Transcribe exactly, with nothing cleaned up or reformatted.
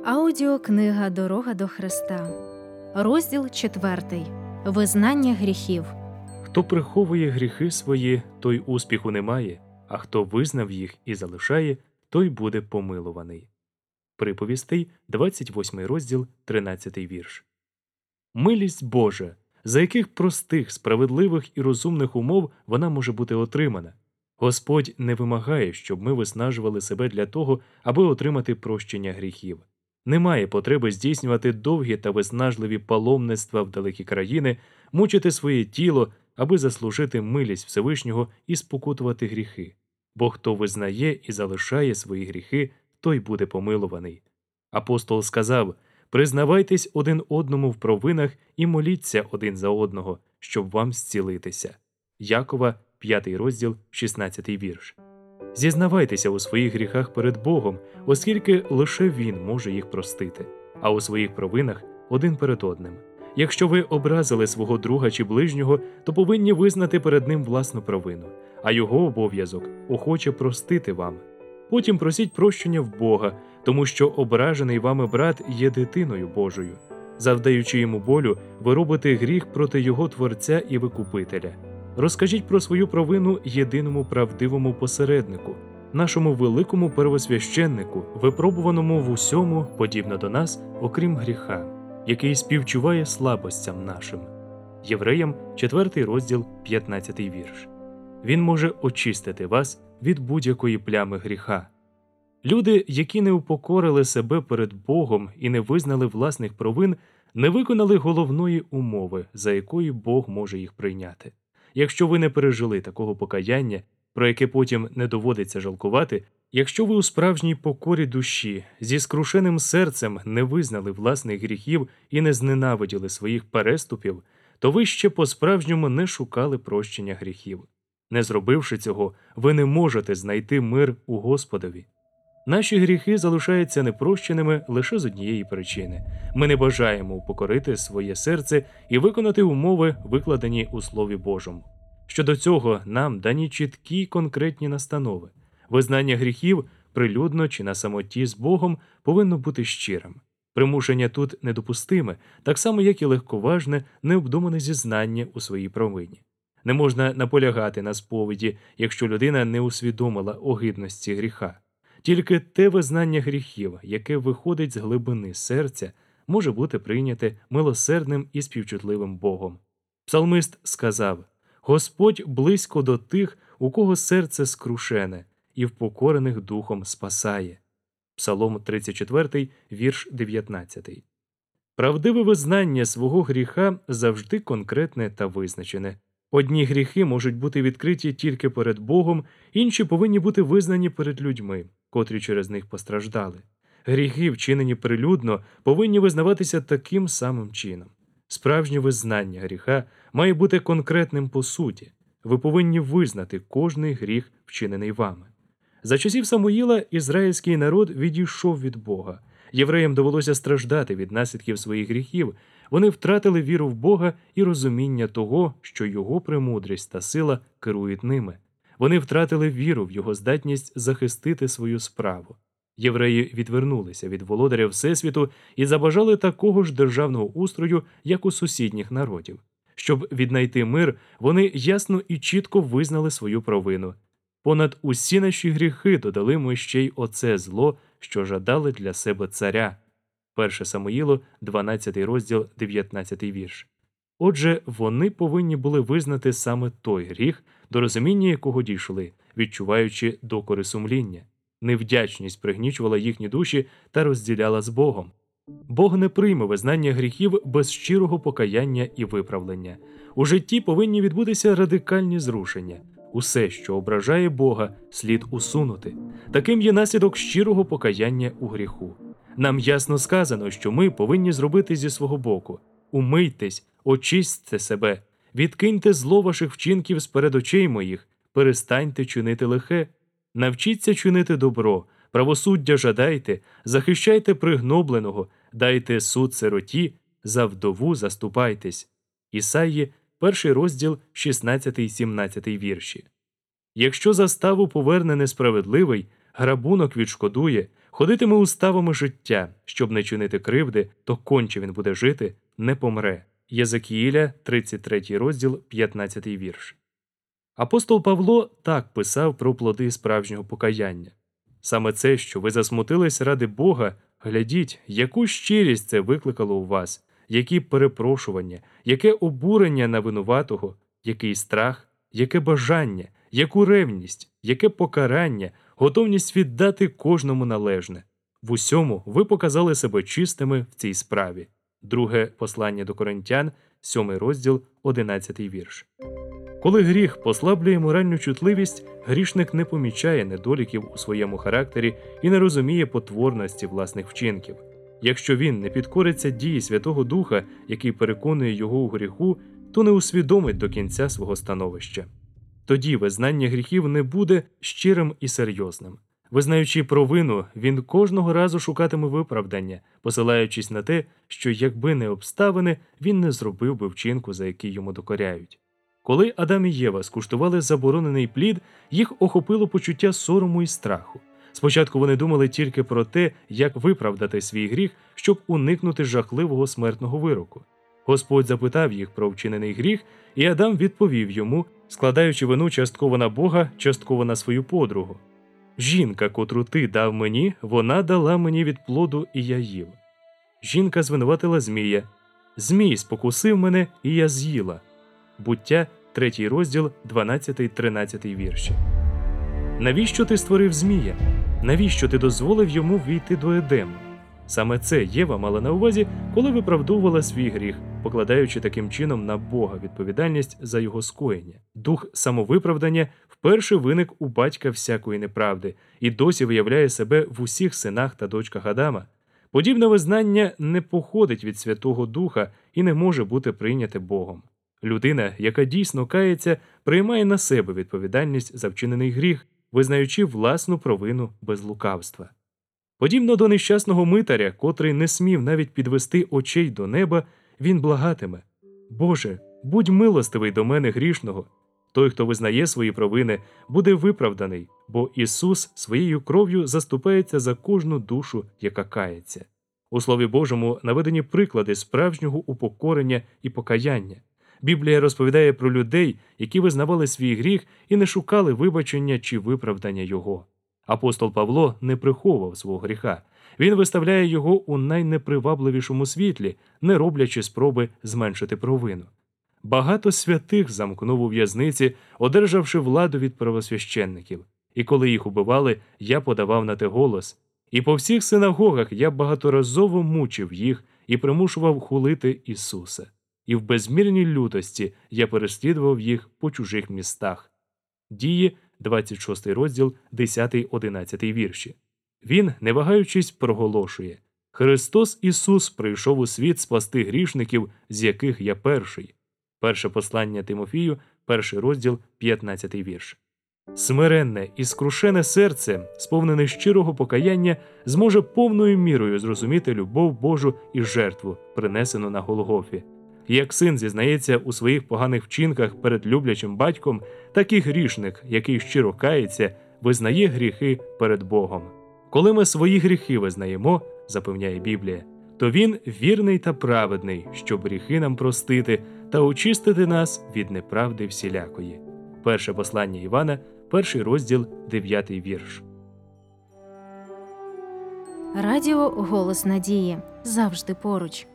Аудіокнига «Дорога до Христа». Розділ четвертий. Визнання гріхів. Хто приховує гріхи свої, той успіху не має, а хто визнав їх і залишає, той буде помилуваний. Приповістей, двадцять восьмий розділ, тринадцятий вірш. Милість Божа, за яких простих, справедливих і розумних умов вона може бути отримана. Господь не вимагає, щоб ми виснажували себе для того, аби отримати прощення гріхів. Немає потреби здійснювати довгі та виснажливі паломництва в далекі країни, мучити своє тіло, аби заслужити милість Всевишнього і спокутувати гріхи. Бо хто визнає і залишає свої гріхи, той буде помилуваний. Апостол сказав: «Признавайтесь один одному в провинах і моліться один за одного, щоб вам зцілитися». Якова, п'ятий розділ, шістнадцятий вірш. Зізнавайтеся у своїх гріхах перед Богом, оскільки лише Він може їх простити, а у своїх провинах один перед одним. Якщо ви образили свого друга чи ближнього, то повинні визнати перед ним власну провину, а його обов'язок – охоче простити вам. Потім просіть прощення в Бога, тому що ображений вами брат є дитиною Божою. Завдаючи йому болю, ви робите гріх проти його Творця і Викупителя. Розкажіть про свою провину єдиному правдивому посереднику, нашому великому первосвященнику, випробуваному в усьому, подібно до нас, окрім гріха, який співчуває слабостям нашим. Євреям, четвертий розділ, п'ятнадцятий вірш. Він може очистити вас від будь-якої плями гріха. Люди, які не упокорили себе перед Богом і не визнали власних провин, не виконали головної умови, за якою Бог може їх прийняти. Якщо ви не пережили такого покаяння, про яке потім не доводиться жалкувати, якщо ви у справжній покорі душі, зі скрушеним серцем не визнали власних гріхів і не зненавиділи своїх переступів, то ви ще по-справжньому не шукали прощення гріхів. Не зробивши цього, ви не можете знайти мир у Господові. Наші гріхи залишаються непрощеними лише з однієї причини. Ми не бажаємо упокорити своє серце і виконати умови, викладені у Слові Божому. Щодо цього нам дані чіткі конкретні настанови. Визнання гріхів, прилюдно чи на самоті з Богом, повинно бути щирим. Примушення тут недопустиме, так само як і легковажне, необдумане зізнання у своїй провині. Не можна наполягати на сповіді, якщо людина не усвідомила огидності гріха. Тільки те визнання гріхів, яке виходить з глибини серця, може бути прийняте милосердним і співчутливим Богом. Псалмист сказав: «Господь близько до тих, у кого серце скрушене, і впокорених духом спасає». Псалом тридцять четвертий, вірш дев'ятнадцятий. Правдиве визнання свого гріха завжди конкретне та визначене. Одні гріхи можуть бути відкриті тільки перед Богом, інші повинні бути визнані перед людьми, котрі через них постраждали. Гріхи, вчинені прилюдно, повинні визнаватися таким самим чином. Справжнє визнання гріха має бути конкретним по суті. Ви повинні визнати кожний гріх, вчинений вами. За часів Самуїла ізраїльський народ відійшов від Бога. Євреям довелося страждати від наслідків своїх гріхів. Вони втратили віру в Бога і розуміння того, що Його премудрість та сила керують ними. Вони втратили віру в Його здатність захистити свою справу. Євреї відвернулися від володаря Всесвіту і забажали такого ж державного устрою, як у сусідніх народів. Щоб віднайти мир, вони ясно і чітко визнали свою провину. Понад усі наші гріхи додали ми ще й оце зло, що жадали для себе царя. Перше Самуїлу, дванадцятий розділ, дев'ятнадцятий вірш. Отже, вони повинні були визнати саме той гріх, до розуміння якого дійшли, відчуваючи докори сумління. Невдячність пригнічувала їхні душі та розділяла з Богом. Бог не прийме визнання гріхів без щирого покаяння і виправлення. У житті повинні відбутися радикальні зрушення. Усе, що ображає Бога, слід усунути. Таким є наслідок щирого покаяння у гріху. Нам ясно сказано, що ми повинні зробити зі свого боку. Умийтесь, очистьте себе, відкиньте зло ваших вчинків з-перед очей моїх, перестаньте чинити лихе. Навчіться чинити добро, правосуддя жадайте, захищайте пригнобленого, дайте суд сироті, за вдову заступайтесь. Ісаї, перший розділ, шістнадцятий-сімнадцятий вірші. Якщо заставу поверне несправедливий, грабунок відшкодує, ходитиме уставами життя, щоб не чинити кривди, то конче він буде жити, не помре. Єзекіїля, тридцять третій розділ, п'ятнадцятий вірш. Апостол Павло так писав про плоди справжнього покаяння. Саме це, що ви засмутились ради Бога, глядіть, яку щирість це викликало у вас, які перепрошування, яке обурення на винуватого, який страх, яке бажання, яку ревність, яке покарання, готовність віддати кожному належне. В усьому ви показали себе чистими в цій справі. Друге послання до Коринтян, сьомий розділ, одинадцятий вірш. Коли гріх послаблює моральну чутливість, грішник не помічає недоліків у своєму характері і не розуміє потворності власних вчинків. Якщо він не підкориться дії Святого Духа, який переконує його у гріху, то не усвідомить до кінця свого становища. Тоді визнання гріхів не буде щирим і серйозним. Визнаючи провину, він кожного разу шукатиме виправдання, посилаючись на те, що якби не обставини, він не зробив би вчинку, за який йому докоряють. Коли Адам і Єва скуштували заборонений плід, їх охопило почуття сорому і страху. Спочатку вони думали тільки про те, як виправдати свій гріх, щоб уникнути жахливого смертного вироку. Господь запитав їх про вчинений гріх, і Адам відповів йому, складаючи вину частково на Бога, частково на свою подругу. «Жінка, котру ти дав мені, вона дала мені від плоду, і я їв». Жінка звинуватила Змія. «Змій спокусив мене, і я з'їла». Буття, третій розділ, дванадцятий-тринадцятий вірші. Навіщо ти створив Змія? Навіщо ти дозволив йому війти до Едему? Саме це Єва мала на увазі, коли виправдовувала свій гріх, покладаючи таким чином на Бога відповідальність за його скоєння. Дух самовиправдання вперше виник у батька всякої неправди і досі виявляє себе в усіх синах та дочках Адама. Подібне визнання не походить від Святого Духа і не може бути прийняте Богом. Людина, яка дійсно кається, приймає на себе відповідальність за вчинений гріх, визнаючи власну провину без лукавства. Подібно до нещасного митаря, котрий не смів навіть підвести очей до неба, він благатиме: «Боже, будь милостивий до мене грішного». Той, хто визнає свої провини, буде виправданий, бо Ісус своєю кров'ю заступається за кожну душу, яка кається. У Слові Божому наведені приклади справжнього упокорення і покаяння. Біблія розповідає про людей, які визнавали свій гріх і не шукали вибачення чи виправдання його. Апостол Павло не приховував свого гріха. Він виставляє його у найнепривабливішому світлі, не роблячи спроби зменшити провину. Багато святих замкнув у в'язниці, одержавши владу від первосвященників. І коли їх убивали, я подавав на те голос. І по всіх синагогах я багаторазово мучив їх і примушував хулити Ісуса. І в безмірній лютості я переслідував їх по чужих містах. Дії, двадцять шостий розділ, десятий-одинадцятий вірші. Він, не вагаючись, проголошує: «Христос Ісус прийшов у світ спасти грішників, з яких я перший». Перше послання Тимофію, перший розділ, п'ятнадцятий вірш. Смиренне і скрушене серце, сповнене щирого покаяння, зможе повною мірою зрозуміти любов Божу і жертву, принесену на Голгофі. Як син зізнається у своїх поганих вчинках перед люблячим батьком, так і грішник, який щиро кається, визнає гріхи перед Богом. Коли ми свої гріхи визнаємо, запевняє Біблія, то Він вірний та праведний, щоб гріхи нам простити та очистити нас від неправди всілякої. Перше послання Івана, перший розділ, дев'ятий вірш. Радіо «Голос надії» завжди поруч.